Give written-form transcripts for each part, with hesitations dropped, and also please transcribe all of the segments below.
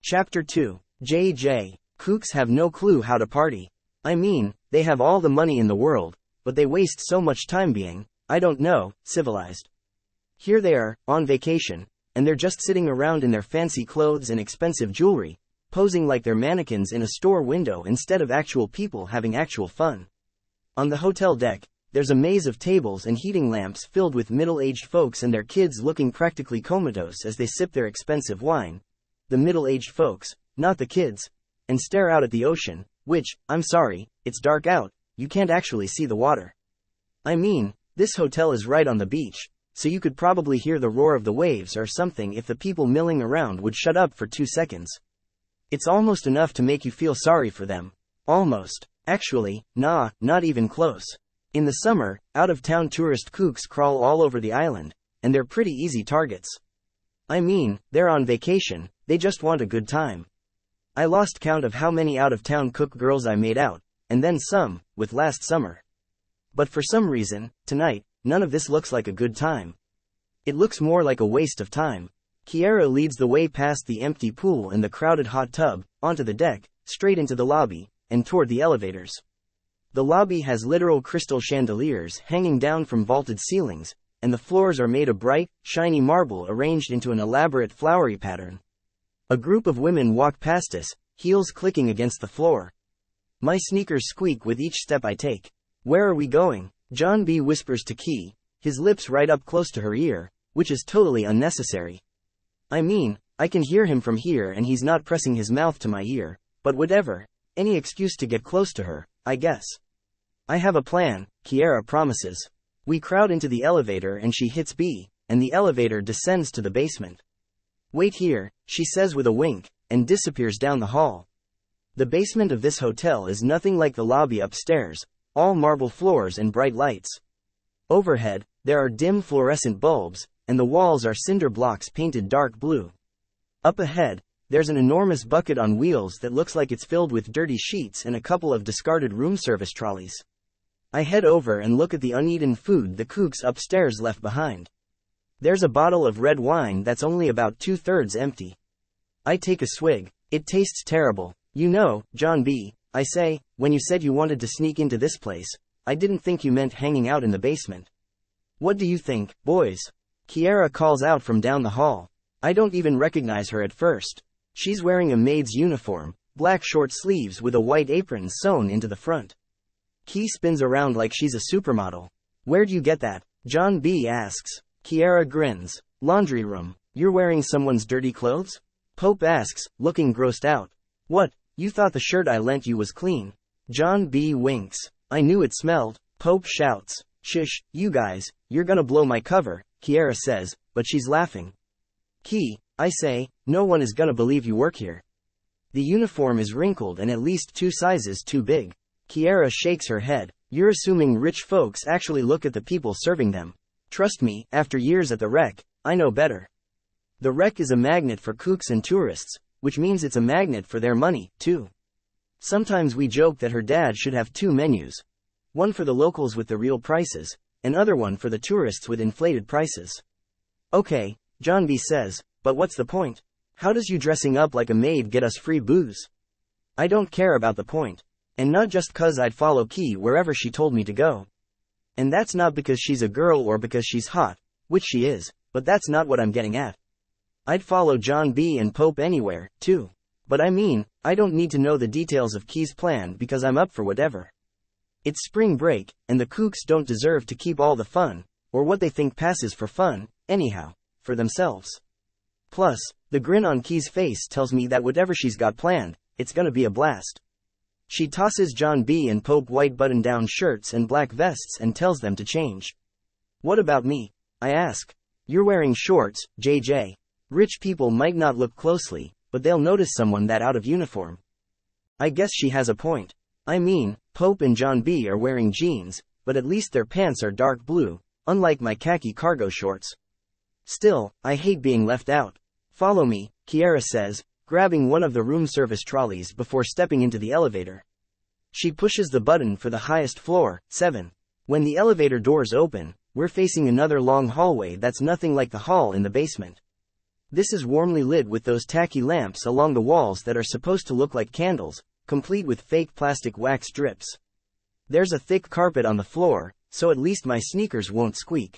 Chapter 2. JJ. Kooks have no clue how to party. I mean, they have all the money in the world, but they waste so much time being, I don't know, civilized. Here they are, on vacation, and they're just sitting around in their fancy clothes and expensive jewelry, posing like they're mannequins in a store window instead of actual people having actual fun. On the hotel deck, there's a maze of tables and heating lamps filled with middle-aged folks and their kids looking practically comatose as they sip their expensive wine. The middle-aged folks, not the kids, and stare out at the ocean, which, I'm sorry, it's dark out, you can't actually see the water. I mean, this hotel is right on the beach, so you could probably hear the roar of the waves or something if the people milling around would shut up for 2 seconds. It's almost enough to make you feel sorry for them. Almost. Actually, nah, not even close. In the summer, out-of-town tourist kooks crawl all over the island, and they're pretty easy targets. I mean, they're on vacation, they just want a good time. I lost count of how many out-of-town cook girls I made out, and then some, with last summer. But for some reason, tonight, none of this looks like a good time. It looks more like a waste of time. Kiera leads the way past the empty pool and the crowded hot tub, onto the deck, straight into the lobby, and toward the elevators. The lobby has literal crystal chandeliers hanging down from vaulted ceilings, and the floors are made of bright, shiny marble arranged into an elaborate flowery pattern. A group of women walk past us, heels clicking against the floor. My sneakers squeak with each step I take. Where are we going? John B. whispers to Key, his lips right up close to her ear, which is totally unnecessary. I mean, I can hear him from here and he's not pressing his mouth to my ear, but whatever, any excuse to get close to her, I guess. I have a plan, Kiera promises. We crowd into the elevator and she hits B, and the elevator descends to the basement. Wait here, she says with a wink, and disappears down the hall. The basement of this hotel is nothing like the lobby upstairs, all marble floors and bright lights. Overhead, there are dim fluorescent bulbs, and the walls are cinder blocks painted dark blue. Up ahead, there's an enormous bucket on wheels that looks like it's filled with dirty sheets and a couple of discarded room service trolleys. I head over and look at the uneaten food the kooks upstairs left behind. There's a bottle of red wine that's only about 2/3 empty. I take a swig. It tastes terrible. You know, John B., I say, when you said you wanted to sneak into this place, I didn't think you meant hanging out in the basement. What do you think, boys? Kiera calls out from down the hall. I don't even recognize her at first. She's wearing a maid's uniform, black short sleeves with a white apron sewn into the front. Key spins around like she's a supermodel. Where'd you get that? John B. asks. Kiera grins. Laundry room. You're wearing someone's dirty clothes? Pope asks, looking grossed out. What, you thought the shirt I lent you was clean? John B. winks. I knew it smelled. Pope shouts. Shush, you guys, you're gonna blow my cover, Kiera says, but she's laughing. Key, I say, no one is gonna believe you work here. The uniform is wrinkled and at least 2 sizes too big. Kiera shakes her head. You're assuming rich folks actually look at the people serving them. Trust me, after years at the Rec, I know better. The Rec is a magnet for kooks and tourists, which means it's a magnet for their money, too. Sometimes we joke that her dad should have 2 menus. One for the locals with the real prices, and other one for the tourists with inflated prices. Okay, John B. says, but what's the point? How does you dressing up like a maid get us free booze? I don't care about the point. And not just 'cause I'd follow Key wherever she told me to go. And that's not because she's a girl or because she's hot, which she is, but that's not what I'm getting at. I'd follow John B. and Pope anywhere, too. But I mean, I don't need to know the details of Key's plan because I'm up for whatever. It's spring break, and the kooks don't deserve to keep all the fun, or what they think passes for fun, anyhow, for themselves. Plus, the grin on Key's face tells me that whatever she's got planned, it's gonna be a blast. She tosses John B. and Pope white button-down shirts and black vests and tells them to change. What about me? I ask. You're wearing shorts, JJ. Rich people might not look closely, but they'll notice someone that out of uniform. I guess she has a point. I mean, Pope and John B. are wearing jeans, but at least their pants are dark blue, unlike my khaki cargo shorts. Still, I hate being left out. Follow me, Kiera says, grabbing one of the room service trolleys before stepping into the elevator. She pushes the button for the highest floor, 7. When the elevator doors open, we're facing another long hallway that's nothing like the hall in the basement. This is warmly lit with those tacky lamps along the walls that are supposed to look like candles, complete with fake plastic wax drips. There's a thick carpet on the floor, so at least my sneakers won't squeak.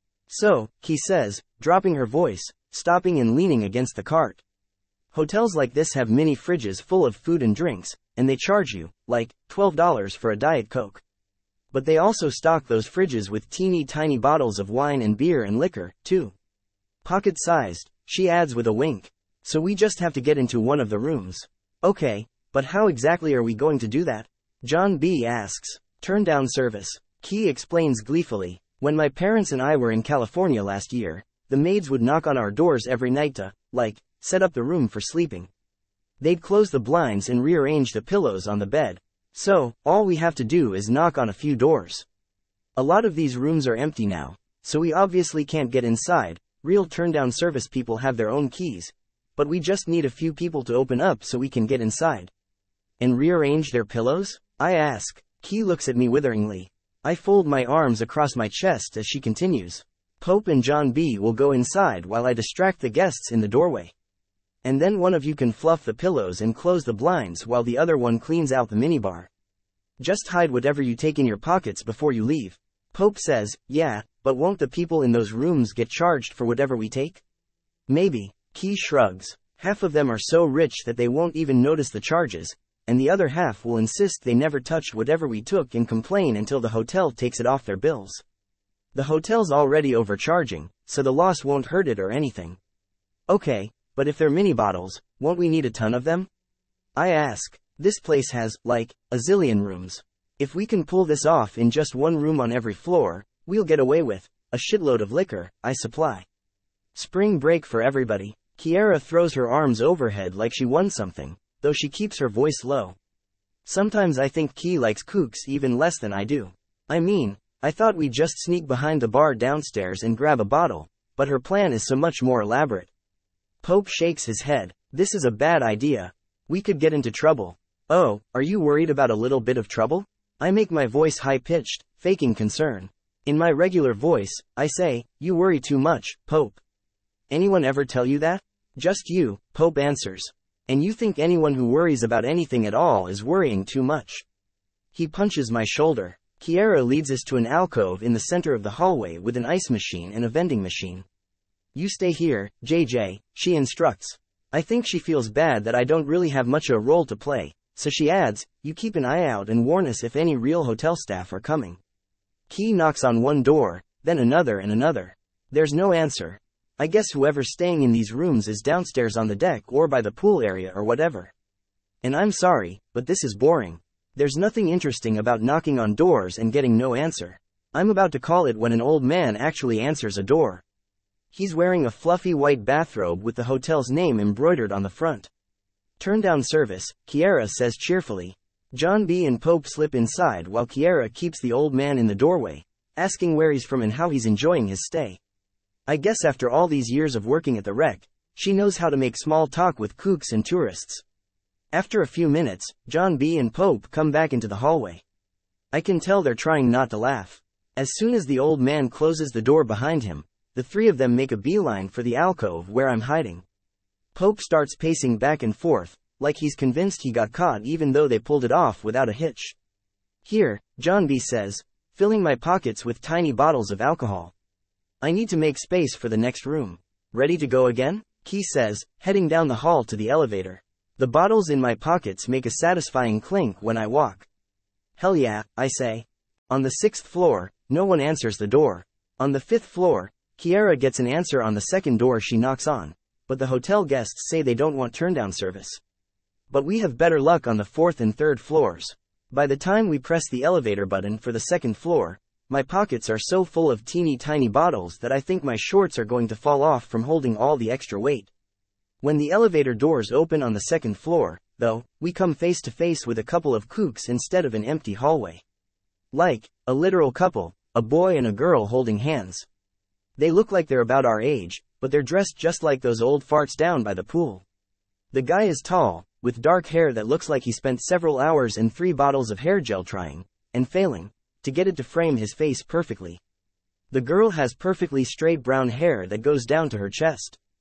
So, Key says, dropping her voice, stopping and leaning against the cart. Hotels like this have mini fridges full of food and drinks, and they charge you, like, $12 for a Diet Coke. But they also stock those fridges with teeny tiny bottles of wine and beer and liquor, too. Pocket-sized, she adds with a wink. So we just have to get into one of the rooms. Okay, but how exactly are we going to do that? John B. asks. Turn down service. Key explains gleefully. When my parents and I were in California last year, the maids would knock on our doors every night to, like, set up the room for sleeping. They'd close the blinds and rearrange the pillows on the bed. So, all we have to do is knock on a few doors. A lot of these rooms are empty now, so we obviously can't get inside. Real turn-down service people have their own keys, but we just need a few people to open up so we can get inside. And rearrange their pillows? I ask. Key looks at me witheringly. I fold my arms across my chest as she continues. Pope and John B. will go inside while I distract the guests in the doorway. And then one of you can fluff the pillows and close the blinds while the other one cleans out the minibar. Just hide whatever you take in your pockets before you leave. Pope says, yeah, but won't the people in those rooms get charged for whatever we take? Maybe. Key shrugs. Half of them are so rich that they won't even notice the charges, and the other half will insist they never touched whatever we took and complain until the hotel takes it off their bills. The hotel's already overcharging, so the loss won't hurt it or anything. Okay, but if they're mini bottles, won't we need a ton of them? I ask. This place has, like, a zillion rooms. If we can pull this off in just one room on every floor, we'll get away with a shitload of liquor, I supply. Spring break for everybody. Kiera throws her arms overhead like she won something, though she keeps her voice low. Sometimes I think Key likes kooks even less than I do. I mean, I thought we'd just sneak behind the bar downstairs and grab a bottle, but her plan is so much more elaborate. Pope shakes his head. This is a bad idea. We could get into trouble. Oh, are you worried about a little bit of trouble? I make my voice high-pitched, faking concern. In my regular voice, I say, you worry too much, Pope. Anyone ever tell you that? Just you, Pope answers. And you think anyone who worries about anything at all is worrying too much. He punches my shoulder. Kiera leads us to an alcove in the center of the hallway with an ice machine and a vending machine. You stay here, JJ, she instructs. I think she feels bad that I don't really have much of a role to play, so she adds, you keep an eye out and warn us if any real hotel staff are coming. Key knocks on one door, then another and another. There's no answer. I guess whoever's staying in these rooms is downstairs on the deck or by the pool area or whatever. And I'm sorry, but this is boring. There's nothing interesting about knocking on doors and getting no answer. I'm about to call it when an old man actually answers a door. He's wearing a fluffy white bathrobe with the hotel's name embroidered on the front. Turn down service, Kiera says cheerfully. John B. and Pope slip inside while Kiera keeps the old man in the doorway, asking where he's from and how he's enjoying his stay. I guess after all these years of working at the Rec, she knows how to make small talk with kooks and tourists. After a few minutes, John B. and Pope come back into the hallway. I can tell they're trying not to laugh. As soon as the old man closes the door behind him, the three of them make a beeline for the alcove where I'm hiding. Pope starts pacing back and forth, like he's convinced he got caught even though they pulled it off without a hitch. Here, John B. says, filling my pockets with tiny bottles of alcohol. I need to make space for the next room. Ready to go again? Key says, heading down the hall to the elevator. The bottles in my pockets make a satisfying clink when I walk. Hell yeah, I say. On the 6th floor, no one answers the door. On the 5th floor, Kiera gets an answer on the second door she knocks on, but the hotel guests say they don't want turndown service. But we have better luck on the 4th and 3rd floors. By the time we press the elevator button for the 2nd floor, my pockets are so full of teeny tiny bottles that I think my shorts are going to fall off from holding all the extra weight. When the elevator doors open on the 2nd floor, though, we come face to face with a couple of kooks instead of an empty hallway. Like, a literal couple, a boy and a girl holding hands. They look like they're about our age, but they're dressed just like those old farts down by the pool. The guy is tall, with dark hair that looks like he spent several hours and 3 bottles of hair gel trying, and failing, to get it to frame his face perfectly. The girl has perfectly straight brown hair that goes down to her chest.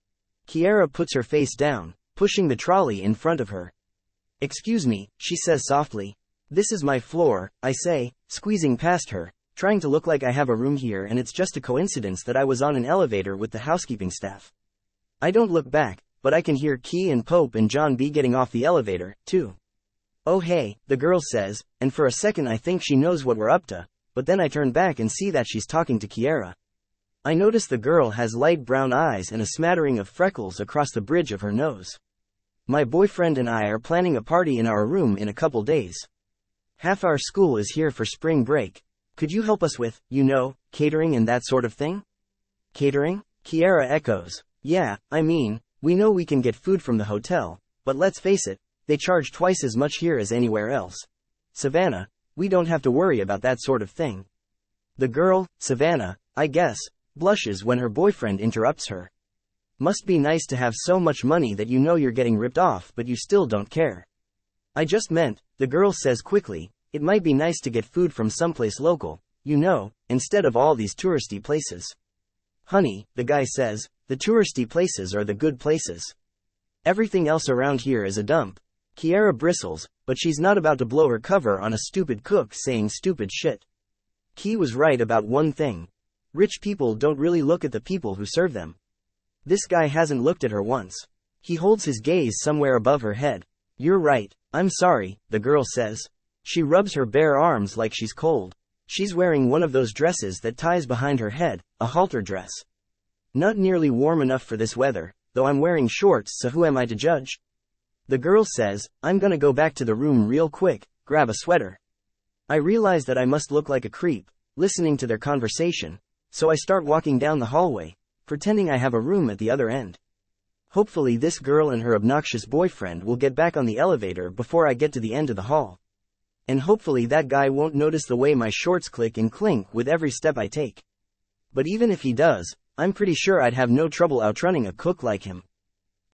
Kiera puts her face down, pushing the trolley in front of her. Excuse me, she says softly. This is my floor, I say, squeezing past her, trying to look like I have a room here, and it's just a coincidence that I was on an elevator with the housekeeping staff. I don't look back, but I can hear Key and Pope and John B getting off the elevator, too. Oh hey, the girl says, and for a second I think she knows what we're up to, but then I turn back and see that she's talking to Kiera. I notice the girl has light brown eyes and a smattering of freckles across the bridge of her nose. My boyfriend and I are planning a party in our room in a couple days. Half our school is here for spring break. Could you help us with, catering and that sort of thing? Catering? Kiera echoes. Yeah, I mean, we know we can get food from the hotel, but let's face it, they charge twice as much here as anywhere else. Savannah, we don't have to worry about that sort of thing. The girl, Savannah, I guess, blushes when her boyfriend interrupts her. Must be nice to have so much money that you know you're getting ripped off but you still don't care. I just meant, the girl says quickly, it might be nice to get food from someplace local, instead of all these touristy places. Honey, the guy says, the touristy places are the good places. Everything else around here is a dump. Kiera bristles, but she's not about to blow her cover on a stupid cook saying stupid shit. Key was right about one thing. Rich people don't really look at the people who serve them. This guy hasn't looked at her once. He holds his gaze somewhere above her head. You're right, I'm sorry, the girl says. She rubs her bare arms like she's cold. She's wearing one of those dresses that ties behind her head, a halter dress. Not nearly warm enough for this weather, though I'm wearing shorts, so who am I to judge? The girl says, I'm gonna go back to the room real quick, grab a sweater. I realize that I must look like a creep, listening to their conversation, so I start walking down the hallway, pretending I have a room at the other end. Hopefully this girl and her obnoxious boyfriend will get back on the elevator before I get to the end of the hall. And hopefully that guy won't notice the way my shorts click and clink with every step I take. But even if he does, I'm pretty sure I'd have no trouble outrunning a cook like him.